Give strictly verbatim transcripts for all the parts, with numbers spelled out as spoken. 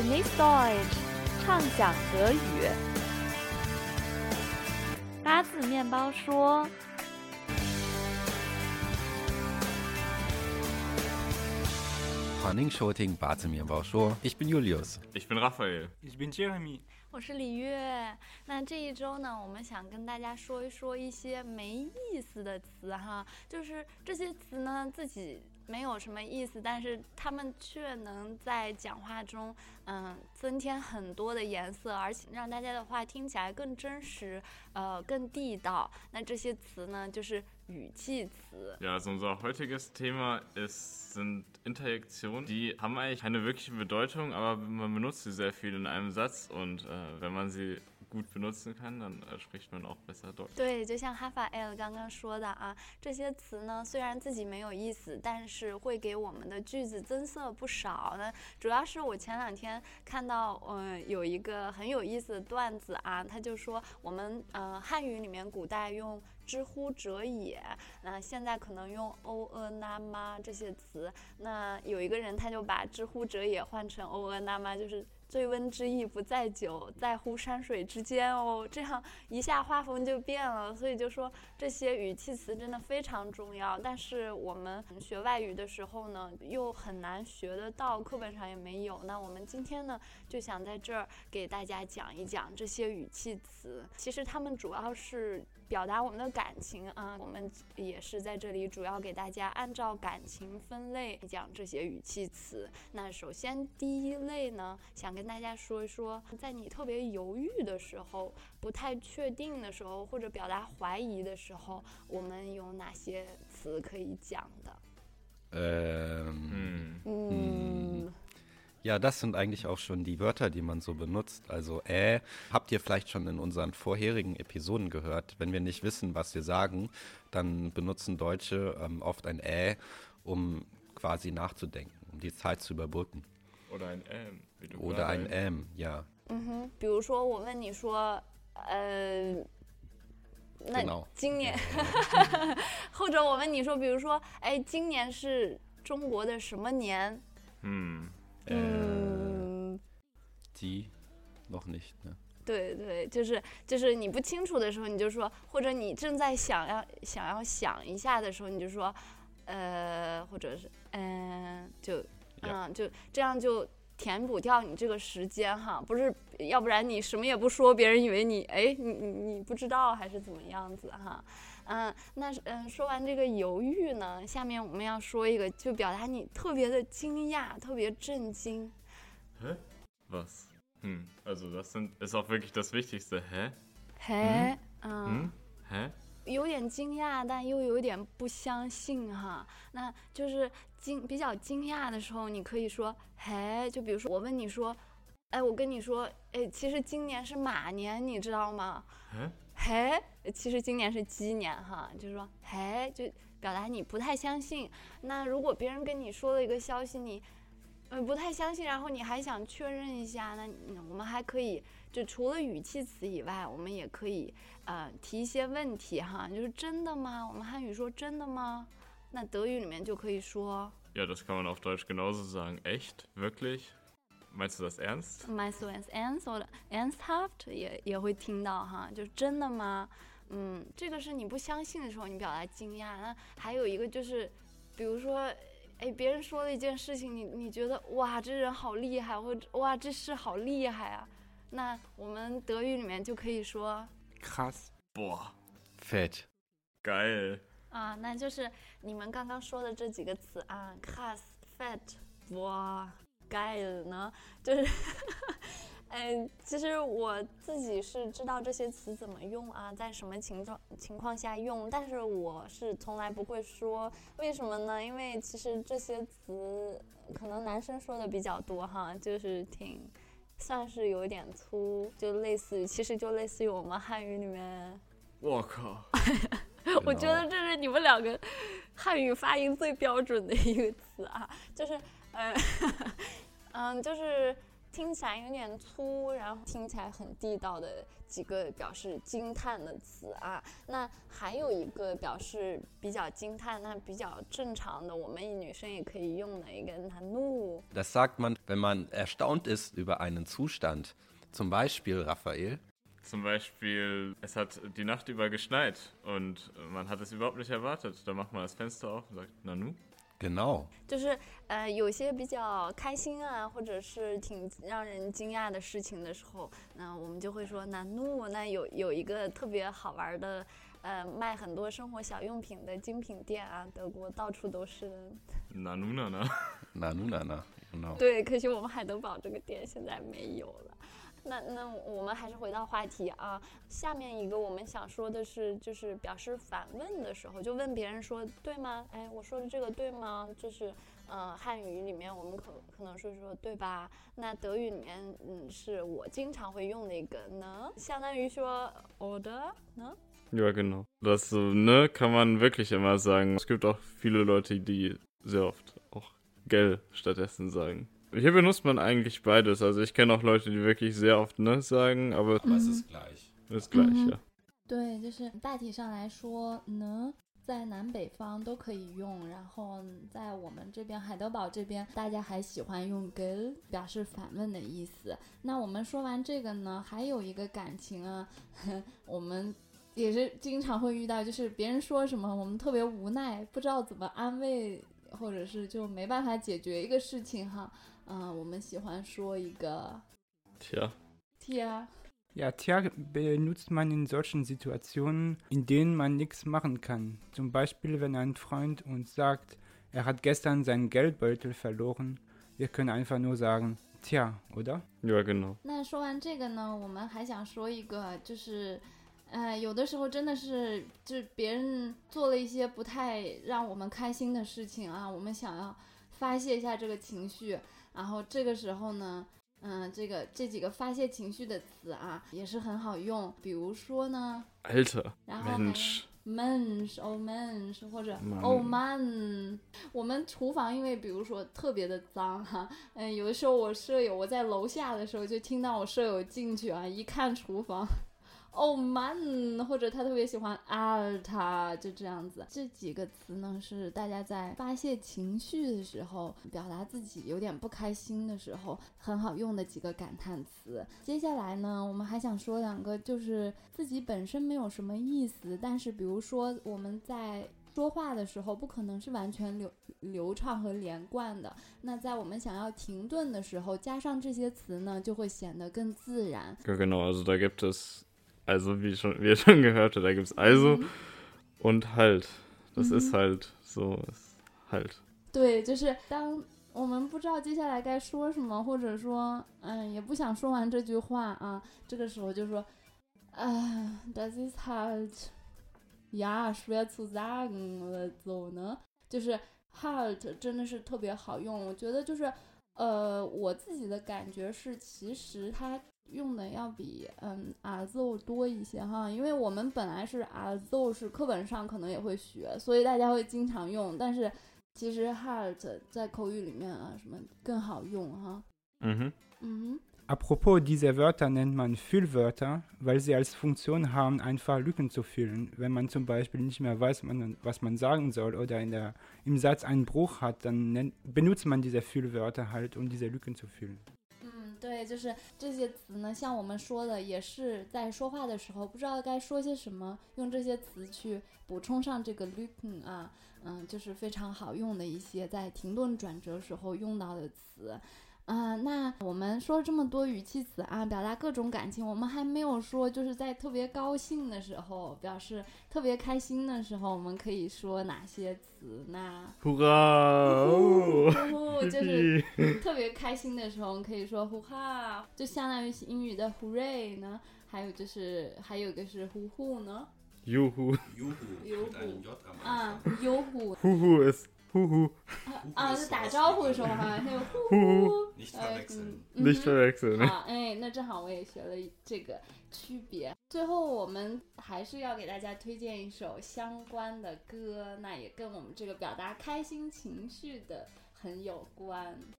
Genieß Deutsch，畅享德语。八字面包说。 欢迎收听八字面包说 Ich bin Julius Ich bin Raphael Ich bin Jeremy 我是李月。那这一周呢，我们想跟大家说一说一些没意思的词哈，就是这些词呢自己没有什么意思，但是他们却能在讲话中嗯增添很多的颜色，而且让大家的话听起来更真实，呃更地道。那这些词呢就是语气词。 Ja, also unser heutiges Thema ist, sind Interjektionen. Die haben eigentlich keine wirkliche Bedeutung, aber man benutzt sie sehr viel in einem Satz und äh, wenn man sie gut benutzen kann, dann äh, spricht man auch besser Deutsch. 对，就像哈法 L 刚刚说的啊，这些词呢虽然自己没有意思，但是会给我们的句子增色不少呢。主要是我前两天看到嗯有一个很有意思的段子啊，他就说我们呃汉语里面古代用知乎者也，那现在可能用欧呃那妈这些词，那有一个人他就把知乎者也换成欧呃那妈，就是醉翁之意不在酒，在乎山水之间哦，这样一下画风就变了。所以就说这些语气词真的非常重要，但是我们学外语的时候呢又很难学得到，课本上也没有。那我们今天呢就想在这儿给大家讲一讲这些语气词，其实它们主要是表达我们的感情啊，我们也是在这里主要给大家按照感情分类讲这些语气词。那首先第一类呢，想跟大家说一说，在你特别犹豫的时候，不太确定的时候，或者表达怀疑的时候，我们有哪些词可以讲的？ Ähm, Hm. Mm. Ja, das sind eigentlich auch schon die Wörter, die man so benutzt. Also äh, habt ihr vielleicht schon in unseren vorherigen Episoden gehört. Wenn wir nicht wissen, was wir sagen, dann benutzen Deutsche ähm, oft ein äh, um quasi nachzudenken, um die Zeit zu überbrücken. Oder ein Ähm. Wie du Oder ein gerade ähm, ja. 嗯哼，比如说我问你说，呃，那 Genau. 今年，或者我问你说，比如说，哎，今年是中国的什么年？ Hm. Äh, 嗯， die noch nicht, ne? 对对，就是就是你不清楚的时候，你就说，或者你正在想要想要想一下的时候，你就说，呃，或者是嗯、呃，就嗯，就这样就填补掉你这个时间哈，不是，要不然你什么也不说，别人以为你哎你你你不知道还是怎么样子哈。嗯，那嗯说完这个犹豫呢，下面我们要说一个，就表达你特别的惊讶，特别震惊。 Hä? Was? Hm. Also das sind, ist auch wirklich das Wichtigste. Hä? 嘿，嗯。 Hm? Hä? 有点惊讶，但又有点不相信哈。那就是惊比较惊讶的时候，你可以说嘿，就比如说我问你说，哎，我跟你说，哎，其实今年是马年，你知道吗？ Hä? 嘿，其实今年是鸡年哈，就是说嘿，就表达你不太相信。那如果别人跟你说了一个消息，你呃不太相信，然后你还想确认一下，那我们还可以就除了语气词以外，我们也可以呃提一些问题哈，就是真的吗？我们汉语说真的吗？那德语里面就可以说 Ja, das kann man auf Deutsch genauso sagen. Echt? Wirklich? Meinst du das ernst? meinst du es ernst oder ernsthaft 也也会听到哈，就真的吗？嗯，这个是你不相信的时候，你表达惊讶。那还有一个就是，比如说，哎，别人说了一件事情，你你觉得哇，这人好厉害，或者哇，这事好厉害啊。那我们德语里面就可以说 Krass Boah, Fett. geil. 啊，那就是你们刚刚说的这几个词啊 ，krass、fett、哇、geil 呢，就是。嗯，其实我自己是知道这些词怎么用啊，在什么情况情况下用，但是我是从来不会说，为什么呢？因为其实这些词可能男生说的比较多哈，就是挺算是有点粗，就类似于，其实就类似于我们汉语里面， 我靠， 我觉得这是你们两个汉语发音最标准的一个词啊，就是嗯嗯，就是。 听起来有点粗，然后听起来很地道的几个表示惊叹的词啊。那还有一个表示比较惊叹，那比较正常的，我们女生也可以用的一个 nanu。 Das sagt man, wenn man erstaunt ist über einen Zustand. Zum Beispiel, Raphael. Zum Beispiel, es hat die Nacht über geschneit und man hat es überhaupt nicht erwartet. Da macht man das Fenster auf und sagt, Nanu? Genau. 就是呃有些比较开心啊，或者是挺让人惊讶的事情的时候，那我们就会说 nanu。 那有有一个特别好玩的呃卖很多生活小用品的精品店啊，德国到处都是。 Nanu Nana. Nanu Nana, genau. 对，可惜我们海德堡这个店现在没有了。那那我们还是回到话题啊，下面一个我们想说的是，就是表示反问的时候，就问别人说对吗？哎，我说的这个对吗？就是呃汉语里面我们可可能是说对吧？那德语里面嗯是我经常会用的一个呢，相当于说 oder 呢。 Ja, genau. Das ne kann man wirklich immer sagen. Es gibt auch viele Leute, die sehr oft auch gell stattdessen sagen. Hier benutzt man eigentlich beides. Also ich kenne auch Leute, die wirklich sehr oft ne sagen, aber, aber es ist gleich. Ist gleich, mhm. ja. 对，就是大体上来说呢，在南北方都可以用，然后在我们这边海德堡这边，大家还喜欢用 gell 表示反问的意思。那我们说完这个呢，还有一个感情啊，我们也是经常会遇到，就是别人说什么，我们特别无奈，不知道怎么安慰，或者是就没办法解决一个事情哈。嗯、呃，我们喜欢说一个 Tja. Tja. Ja, tja benutzt man in solchen Situationen, in denen man nichts machen kann. Zum Beispiel, wenn ein Freund uns sagt, er hat gestern seinen Geldbeutel verloren. Wir können einfach nur sagen, tja, oder? Ja, genau. 那说完这个呢，我们还想说一个，就是呃，有的时候真的是，就是别人做了一些不太让我们开心的事情啊，我们想要发泄一下这个情绪，然后这个时候呢，嗯、呃，这个这几个发泄情绪的词啊，也是很好用。比如说呢 Alter, 然后 Mensch, Mensch, oh Mensch， 或者 Mann. oh man。我们厨房因为比如说特别的脏哈，嗯、呃，有的时候我舍友我在楼下的时候就听到我舍友进去啊，一看厨房。Oh man， 或者他特别喜欢 Alter， 就这样子。这几个词呢，是大家在发泄情绪的时候，表达自己有点不开心的时候，很好用的几个感叹词。接下来呢，我们还想说两个，就是自己本身没有什么意思，但是比如说我们在说话的时候不可能是完全流流畅和连贯的，那在我们想要停顿的时候，加上这些词呢，就会显得更自然。 Ja, genau, also da gibt es, also wie, schon, wie ihr schon gehört habt, da gibt es also mhm. und halt. Das mhm. ist halt so, ist halt. 对，就是当我们不知道接下来该说什么，或者说嗯也不想说完这句话啊，这个时候就说啊 das ist halt ja schwer zu sagen oder so 呢，就是 halt 真的是特别好用。我觉得就是呃我自己的感觉是，其实它用的要比嗯 also 多一些哈，因为我们本来是 also 是课本上可能也会学，所以大家会经常用，但是其实 halt 在口语里面啊什么更好用哈。 嗯哼。 嗯哼。 Apropos, diese Wörter nennt man Füllwörter, weil sie als Funktion haben, einfach Lücken zu füllen. Wenn man zum Beispiel nicht mehr weiß, man, was man sagen soll oder in der, im Satz einen Bruch hat, dann nennt, benutzt man diese Füllwörter halt, um diese Lücken zu füllen. 嗯，对，就是这些词呢，像我们说的，也是在说话的时候不知道该说些什么，用这些词去补充上这个 Lücken 啊，嗯，就是非常好用的一些在停顿转折时候用到的词。嗯、呃，那我们说了这么多语气词啊，表达各种感情，我们还没有说就是在特别高兴的时候，表示特别开心的时候，我们可以说哪些词呢？ Hurra！ 呼呼，就是特别开心的时候，我们可以说呼哈，就相当于英语的 hooray 呢。还有就是还有一个是呼呼呢。 Juhu. Juhu. 啊 ，Juhu. Huhu ist Huhu. 啊，就打招呼的时候哈，还有呼呼。 Nicht verwechseln. Nicht verwechseln. 好，哎，那正好我也学了这个区别。最后我们还是要给大家推荐一首相关的歌，那也跟我们这个表达开心情绪的很有关。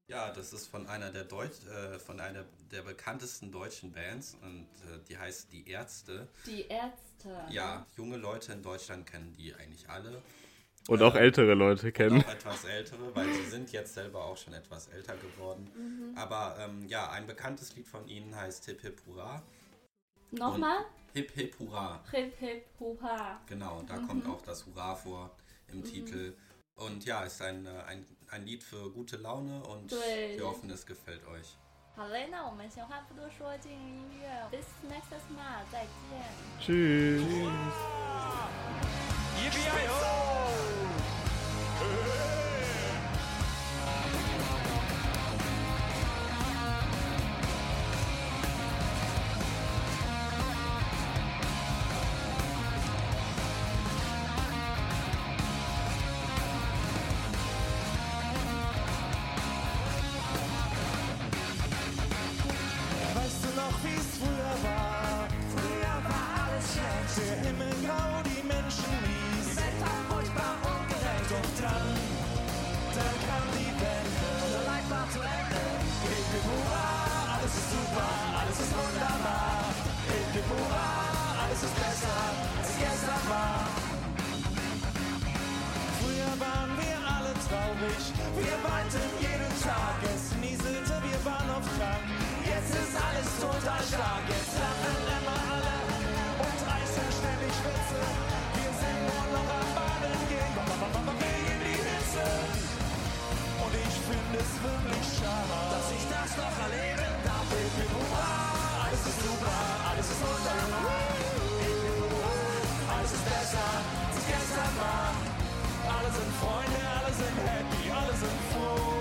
Ja, das ist von einer der Deutsch, äh, von einer der bekanntesten deutschen Bands und äh, die heißt Die Ärzte. Die Ärzte. Ja, junge Leute in Deutschland kennen die eigentlich alle. Und äh, auch ältere Leute kennen. Auch etwas ältere, weil sie sind jetzt selber auch schon etwas älter geworden. Mhm. Aber ähm, ja, ein bekanntes Lied von ihnen heißt Hip Hip Hurra. Nochmal? Hip Hip Hurra. Hip Hip Hurra. Genau, da mhm. kommt auch das Hurra vor im mhm. Titel. Und ja, ist ein, ein, ein Lied für gute Laune und wir hoffen, es gefällt euch. 好嘞，那我们闲话不多说，进入音乐。This next smile， 再见。 Tschüss. Wir weinten jeden Tag, es nieselte, wir waren oft krank. Jetzt ist alles total stark, jetzt lachen immer alle und reißen ständig Witze. Wir sind nur noch am Baden gehen, wegen die Hitze. Und ich finde es wirklich schade, dass ich das noch erleben darf. Ich bin hurra, alles ist super, alles ist wunderbar. Ich bin hurra, alles ist besser, als es gestern war. Alle sind Freunde, alle sind happy, alle sind froh.